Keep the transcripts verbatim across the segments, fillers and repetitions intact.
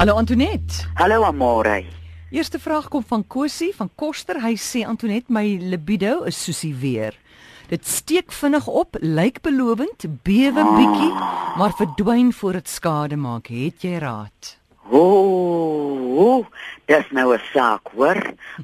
Hallo Antoinette. Hallo Amore. Eerste vraag kom van Kosie van Koster. Hy sê Antoinette, my libido is soos die weer. Dit steek vinnig op, lyk belovend, bewe bietjie, maar verdwyn voor dit skade maak. Het jy raad? Ooh, dis nou 'n saak, hoor.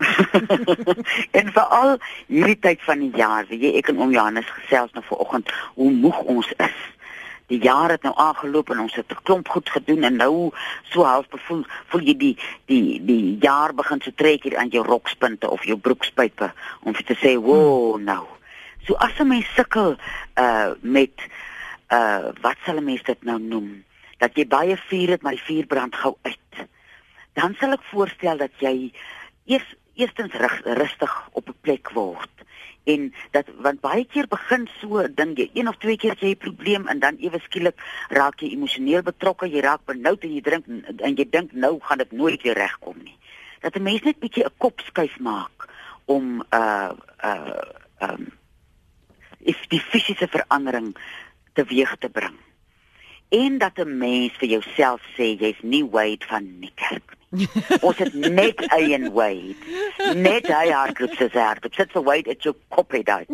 En veral hierdie tyd van die jaar, weet jy, ek en oom Johannes gesels nou vanoggend hoe moeg ons is. Die jaar het nou aangeloop en ons het 'n klomp goed gedoen en nou so half voel, voel jy die die die jaar begin so trek hier aan jou rokspunte of jou broekspype om vir te sê, "Wow, nou." So as 'n mens sukkel uh met uh wat sal 'n mens dit nou noem? Dat jy baie vuur het, maar die vuur brand gou uit. Dan sal ek voorstel dat jy eers eerstens rig, rustig op 'n plek word. En dat want baie keer begin so ding jy een of twee keer jy 'n probleem en dan ewe skielik raak jy emosioneel betrokke, jy raak benoud en jy drink en jy dink nou gaan dit nooit weer regkom nie. Dat 'n mens net bietjie 'n kop skuif maak om uh uh um if die fisiese verandering teweeg te bring. En dat 'n mens vir jouself sê jy's nie Wade van Niekerk nie. Ons het net Ian Wade. Net hy hardloop soos hy hardloop. Sit vir Wade at jou kop het daai.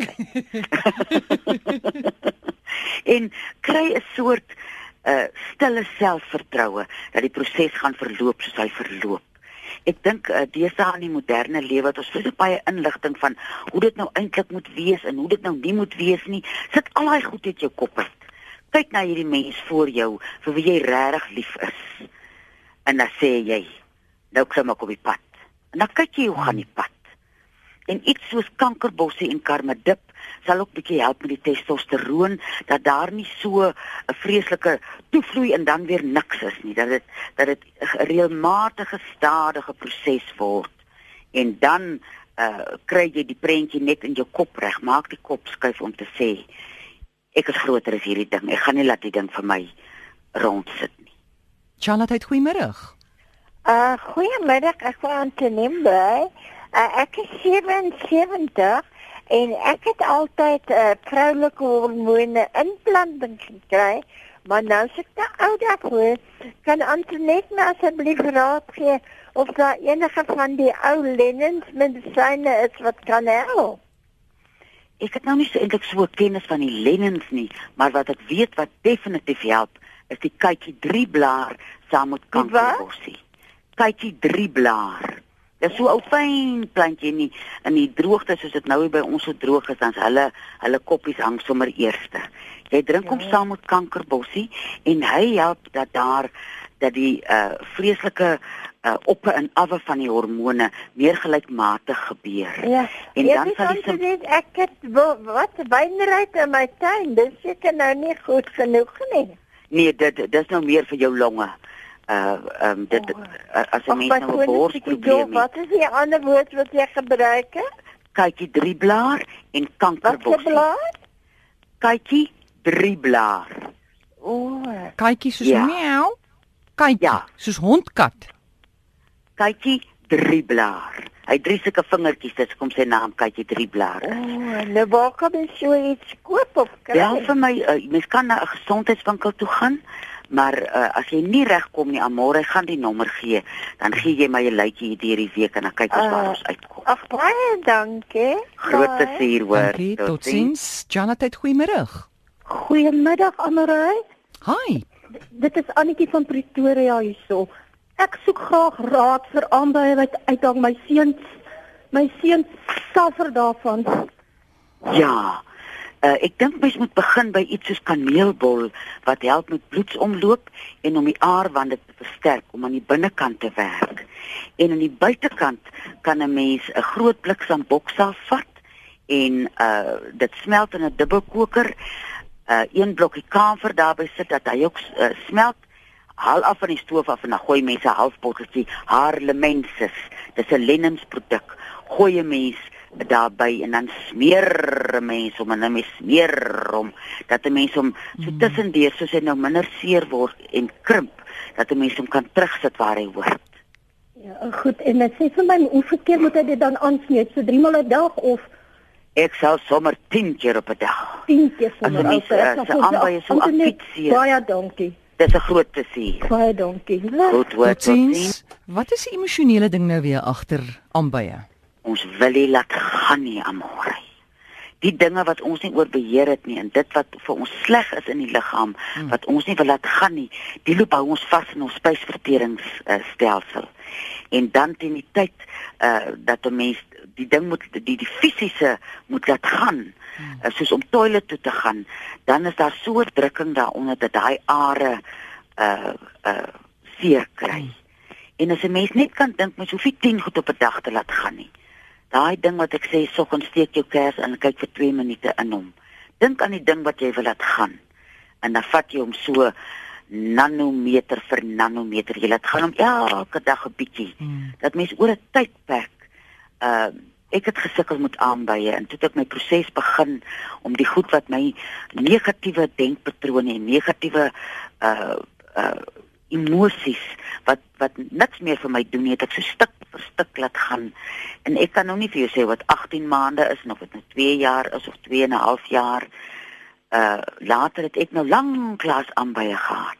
En kry 'n soort uh, stille selfvertroue dat die proses gaan verloop soos hy verloop. Ek dink uh, deesdae in die moderne lewe het ons so baie inligting van hoe dit nou eintlik moet wees en hoe dit nou nie moet wees nie. Sit al daai goed uit jou kop uit. Kyk na hierdie mens voor jou vir wie jy regtig lief is. En dan sê jy, nou klim ek op die pad. En dan kyk jy hoe gaan die pad. En iets soos kankerbossie en karmedip sal ook bietjie help met die testosteroon, dat daar nie so 'n vreeslike toevloei en dan weer niks is nie, dat dit dat dit 'n reëlmatige stadige proses word. En dan uh, kry jy die prentjie net in jou kop reg, maak die kop skuif om te sê, ek is groter as hierdie ding, ek gaan nie laat die ding vir my rondsit nie. Charlotte, goeiemiddag. Uh, goeiemiddag, ek wil Antoinette bly. Uh, ek is sewensewentig en ek het altyd uh, vroulike hormone implanting gekry, maar nou is ek te oud daarvoor. Kan Antoinette my asseblief raad gee of daar enige van die ou Lennens medisyne is wat kan help? Ek het nou nie so eintlik so kennis van die Lennens nie, maar wat ek weet wat definitief help, is die kykie drie blaar saam met kankerbossie. Kykie drie blaar. Dit is so 'n ou fyn plantjie nie in die droogte soos dit nou by ons so droog is, dan hulle hulle koppies hang sommer eerste. Jy drink hom ja. saam met kankerbossie en hy help dat daar dat die uh, vreeslike uh, oppe en afwe van die hormone meer gelykmatig gebeur. Ja. En ja, dan sal jy net ek het wat wynryk in my tuin, dis seker nou nie goed genoeg nie. Nee, dit dis nou meer vir jou longe. Uh um dit oh. uh, as 'n mens nou 'n borsprobleem het. Wat is die ander woord wat jy gebruik het? Kykie drie blaar en kankerbossie. Wat 'n blaar? Kykie drie blaar. O, oh. Kykie soos ja. miau. Kykie ja. soos hondkat. Kykie drie blaar. Hy drie sulke vingertjies, dis kom sy naam Kykie drie blaar. O, oh, nou waar kan jy so iets koop of kry? Wel vir my, uh, mens kan na 'n gesondheidswinkel toe gaan. Maar uh, as jy nie regkom nie, Amore, gaan die nommer gee, dan gee jy my 'n luitjie hier deur die week en dan kyk ons uh, waar ons uitkom. Ag baie dankie. Groot plesier hoor. Dankie, tot, tot ziens. Janette, goeiemiddag. Goeiemiddag Amore. Hi. D dit is Annetjie van Pretoria hierso. Ek soek graag raad vir aanbye wat uitdaging my seuns my seuns suffer daarvan. Ja. Uh, ek dink mens moet begin by iets soos kaneelbol wat help met bloedsomloop en om die aarwande te versterk om aan die binnekant te werk. En aan die buitekant kan 'n mens 'n groot blik samboksaal vat en uh dit smelt in 'n dubbelkoker. Uh een blokkie kamfer daarby sit dat hy ook uh, smelt. Haal af van die stoof af en dan gooi mense 'n half botteltjie Haarlemensis. Dis 'n Lennens produk. Gooi 'n mens daarby en dan smeer mense om en dan mens smeer om dat 'n mens hom so tussendeur soos hy nou minder seer word en krimp dat 'n mens hom kan terugsit waar hy hoort. Ja, goed. En dan sê vir my hoe verkeerd moet hy dit dan aansmeet? So drie maal 'n dag of ek sal sommer tien keer op 'n dag. tien keer sommer. As 'n mens uh, se aanbye so afietseer. Baie dankie. Dis 'n groot plesier. Baie dankie. Goed woord, tot Totsiens. ziens. Wat is die emosionele ding nou weer agter aanbye? Ons wil nie laat gaan nie, amore. Die dinge wat ons nie oor beheer het nie en dit wat vir ons sleg is in die liggaam, hmm. wat ons nie wil laat gaan nie, die loop hou ons vas in ons spysverteringsstelsel. Uh, en dan teen die tyd uh, dat 'n mens die ding moet die die fisiese moet laat gaan, hmm. uh, soos om toilet toe te gaan, dan is daar so 'n drukking daaronder dat daai are uh uh seer kry. Hmm. En as 'n mens net kan dink, mens hoef nie tien goed op 'n dag te laat gaan nie. Daai ding wat ek sê, soggens steek jou kers en kyk vir twee minute in hom. Dink aan die ding wat jy wil laat gaan. En dan vat jy hom so nanometer vir nanometer. Jy laat gaan hom elke dag 'n bietjie. Hmm. Dat mens oor 'n tydperk uh ek het gesukkel met aanbye en toe het ek my proses begin om die goed wat my negatiewe denkpatrone en negatiewe uh uh emosies wat wat niks meer vir my doen nie, het ek so stuk vir stuk laat gaan. En ek kan nou nie vir jou sê wat agtien maande is of dit nou twee jaar is of twee en 'n half jaar. Uh later het ek nou lank klas aanbye gehad.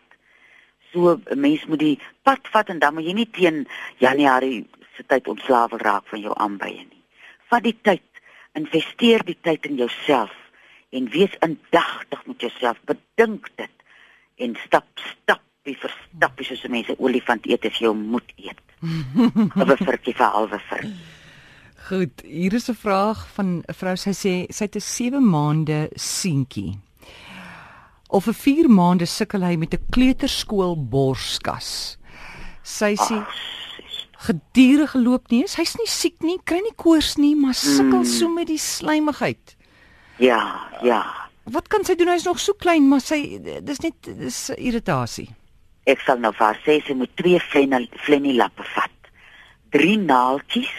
So 'n mens moet die pad vat en dan moet jy nie teen Januarie se tyd ontslaaf raak van jou aanbye nie. Vat die tyd, investeer die tyd in jouself en wees indagtig met jouself. Bedink dit en stap stap vir stapie soos mense olifant eet as jy hom moet eet. 'n Buffertjie vir 'n halwe vir. Goed, hier is 'n vraag van 'n vrou. Sy sê sy het 'n sewe maande seentjie. Of vir vier maande sukkel hy met 'n kleuterskool borskas. Sy sê gedurig geloop nie, hy's nie siek nie, kry nie koors nie, maar sukkel mm. so met die slijmigheid. Ja, ja. Wat kan sy doen? Hy's nog so klein, maar sy dis net dis irritasie. Ek sal nou vir haar sê sy moet twee flennielappe vat. Drie naaltjies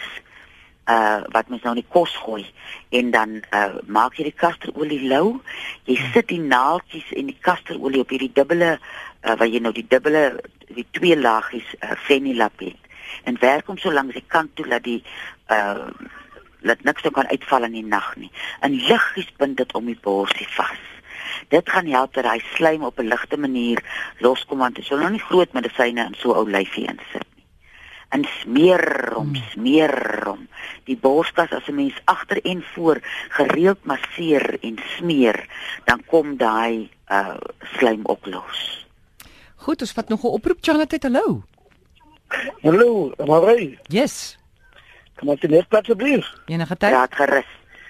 uh wat mens nou in die kos gooi en dan uh maak jy die kasterolie lou. Jy sit die naaltjies en die kasterolie op hierdie dubbele uh waar jy nou die dubbele die twee laagies uh, flennielap het. En werk hom so lank as jy kan toe dat die uh laat niks so kan uitval in die nag nie. En liggies bind dit om die borsie vas. Dit gaan help dat hy slijm op 'n ligte manier loskom, want jy sal nou nie groot medisyne in so 'n ou lyfie insit nie. En smeer hom, smeer hom. Die borskas as 'n mens agter en voor gereeld masseer en smeer, dan kom daai uh slijm ook los. Goed, ons vat nog 'n oproep. Charlotte, hallo. Hallo, Marie. Yes. Kom maar net asseblief. Enige tyd? Ja, gerus.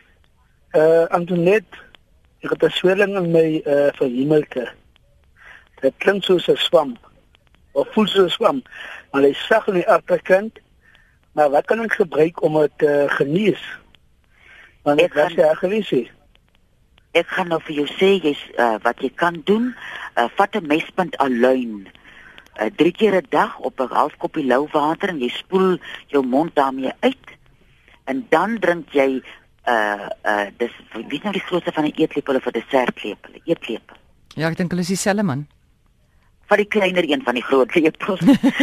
Uh Antoinette, ek het 'n swelling in my uh verhemelke. Dit klink soos 'n swam. Of voel soos 'n swam. Maar hy sag aan die agterkant. Maar wat kan ek gebruik om dit te uh, genees? Want ek was ja gewees. Ek gaan nou vir jou sê jy's uh, wat jy kan doen, uh, vat 'n mespunt aluin. Uh, drie keer 'n dag op 'n half koppie lou water en jy spoel jou mond daarmee uit. En dan drink jy uh uh dis weet nou die grootte van 'n eetlepel of 'n dessertlepel, 'n eetlepel. Ja, ek dink hulle is dieselfde man. Van die kleiner een van die groot lepels.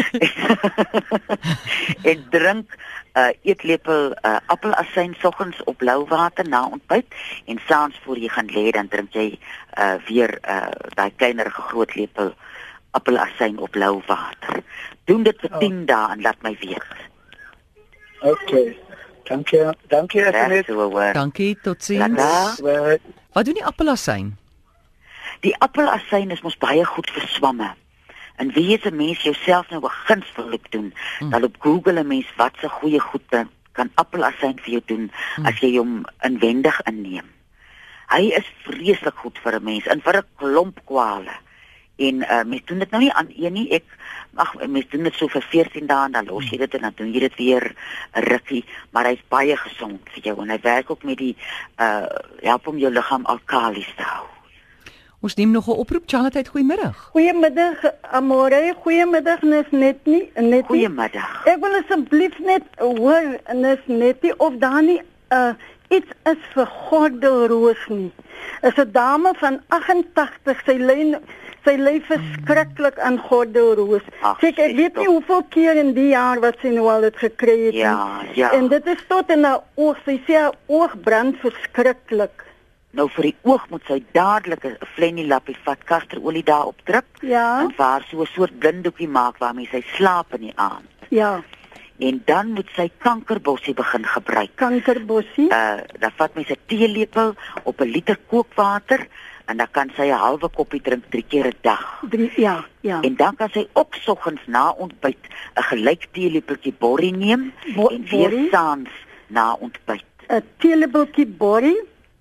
En drink 'n uh, eetlepel uh, appelasyn soggens op lou water na ontbyt en saans voor jy gaan lê dan drink jy uh, weer uh, daai kleiner groot lepel appelasyn op lou water. Doen dit vir tien oh. dae en laat my weet. Okay. Dankie. Dankie Antoinette. Dankie, totsiens. Wat doen die appelasyn? Die appelasyn is mos baie goed vir swamme. En wie is 'n mens jouself nou 'n gunsverloop doen, mm. dan op Google 'n mens wat se goeie goed kan appelasyn vir jou doen mm. as jy hom inwendig inneem. Hy is vreeslik goed vir 'n mens en vir 'n klomp kwale. En uh, mens doen dit nou nie aan een nie. Ek ag mens doen dit so vir veertien dae en dan los jy dit en dan doen jy dit weer 'n rukkie, maar hy's baie gesond vir jou en hy werk ook met die uh help om jou liggaam alkalis te hou. Ons neem nog 'n oproep. Charlotte, goeiemiddag. Goeiemiddag, Amore. Goeiemiddag, Nes net nie. Net Goeiemiddag. Ek wil asseblief net hoor, Nes net nie of daar nie uh iets is vir gordelroos nie. Is 'n dame van agt-en-tagtig, sy lê sy lê verskriklik aan gordelroos. Kyk, ek weet nie hoeveel keer in die jaar wat sy nou al dit gekry het nie. Ja, ja. En dit is tot in haar oog, sy sê haar oog brand verskriklik. Nou vir die oog moet sy dadelik 'n flennielappie vat, kasterolie daarop drup Ja. en vir haar so 'n soort blinddoekie maak waarmee sy slaap in die aand. Ja. En dan moet sy kankerbossie begin gebruik. Kankerbossie. Uh dan vat mens 'n teelepel op 'n liter kookwater en dan kan sy 'n halwe koppie drink drie keer 'n dag. Drie, ja, ja. En dan kan sy ook soggens na ontbyt 'n gelyk teelepeltjie borrie neem Bo- en weer borrie? saans na ontbyt. 'n teelebeltjie borrie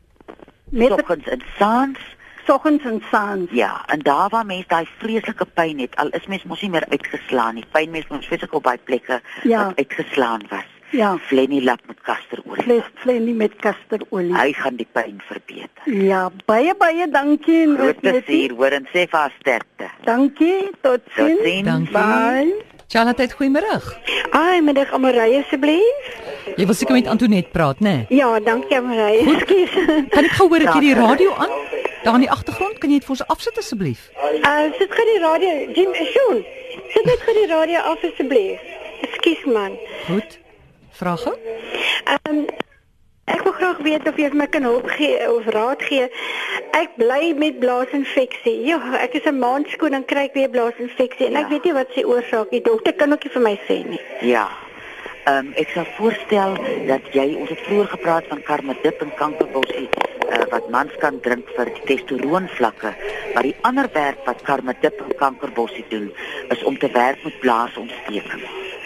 met Soggens en saans. soggens en saans. Ja, en daar waar mens daai vreeslike pyn het, al is mens mos nie meer uitgeslaan nie. Pyn mens mos fisiek op baie plekke Ja. wat uitgeslaan was. Ja. Flennilap met kasterolie. Vlees vleenie met kasterolie. Hy gaan die pyn verbeter. Ja, baie baie dankie. Groot Rosnetie. plesier, hoor en sê vir haar sterkte. Dankie. Tot Tot sins. sins. Dankie. Bye. Charlotte, goeiemôre. Ai, middag Amareye asseblief. Jy wil seker met Antoinette praat, né? Nee? Ja, dankie Amareye. Ekskuus. Kan ek gou hoor ek hier die radio aan? Daar in die agtergrond, kan jy dit vir ons afsit asseblief? Uh, sit gou die radio, Jim, Sean. Sit net gou die radio af asseblief. Ekskuus man. Goed. Vra gou. Ehm um, ek wil graag weet of jy vir my kan hulp gee of raad gee. Ek bly met blaasinfeksie. Ja, ek is 'n maand skoon en kry ek weer blaasinfeksie en Ja. ek weet nie wat se oorsaak die dokter kan ook nie vir my sê nie. Ja. Ehm um, ek sal voorstel dat jy, ons het vroeër gepraat van karmadip en kankerbossie uh, wat mans kan drink vir die testosteroonvlakke, maar die ander werk wat karmadip en kankerbossie doen is om te werk met blaasontsteking.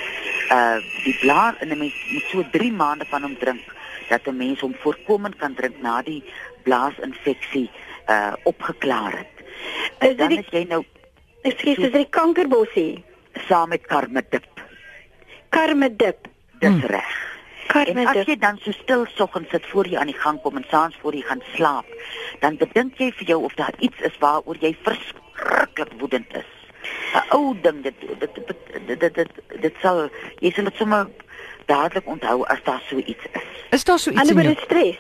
Uh die blaar en 'n mens moet so drie maande van hom drink dat 'n mens hom voorkomend kan drink na die blaasinfeksie uh opgeklaar het. Is En dan dit is jy nou Ekskuus, is dit die kankerbossie? saam met karmadip. Karmedip. Dis Hmm. reg. En as Karmedip. jy dan so stil soggens sit voor jy aan die gang kom en saans voor jy gaan slaap, dan bedink jy vir jou of daar iets is waaroor jy verskriklik woedend is. 'n Ou ding, dit dit dit dit, dit, dit, dit sal jy sal dit sommer dadelik onthou as daar so iets is. Is daar so iets in Ander jou? is stres.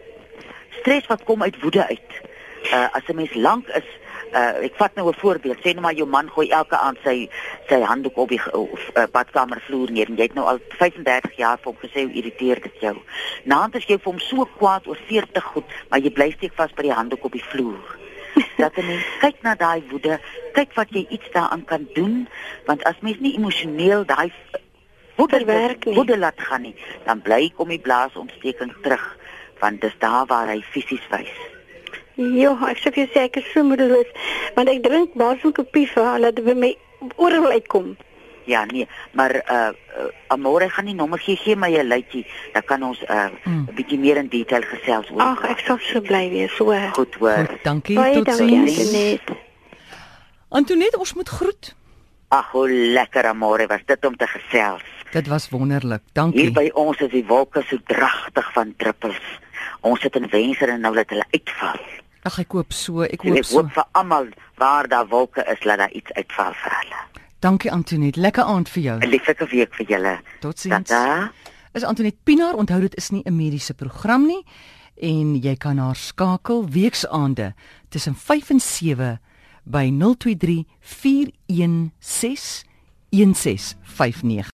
Stres wat kom uit woede uit. Uh as 'n mens lank is, uh ek vat nou 'n voorbeeld. Sê nou maar jou man gooi elke aand sy sy handdoek op die of uh, badkamervloer neer en jy het nou al vyf en dertig jaar vir hom gesê hoe irriteer dit jou. Naand is jy vir hom so kwaad oor veertig goed, maar jy bly steek vas by die handdoek op die vloer. Dat 'n mens kyk na daai woede, kyk wat jy iets daaraan kan doen, want as mens nie emosioneel daai woede Verwerk nie. woede laat gaan nie, dan bly kom die blaasontsteking terug, want dis daar waar hy fisies wys. Ja, ek sê vir jou sê ek is so moedeloos, want ek drink bars van kopie vir haar dat dit by my oral uitkom. Ja, nee, maar uh, uh Amore gaan nie nommer gee, gee my 'n lytjie, dan kan ons 'n uh, Hmm. bietjie meer in detail gesels oor. Ag, ek sal so bly wees, so. Goed hoor. Goed, dankie. Baie Tot dankie, sins. Antoinette. Antoinette, ons moet groet. Ag, hoe lekker Amore was dit om te gesels. Dit was wonderlik. Hier Dankie. by ons is die wolke so dragtig van druppels. Ons sit in Wenser en nou laat hulle uitval. Ag, ek hoop so, ek En hoop ek so. hoop vir almal waar daar wolke is, laat daar iets uitval vir hulle. Dankie Antoinette. Lekker aand vir jou. 'n Lieflike week vir julle. Totsiens. Tata. Is Antoinette Pinaar, onthou dit is nie 'n mediese program nie en jy kan haar skakel weeksaande tussen vyf en sewe by nul twee drie vier een ses een ses vyf nege.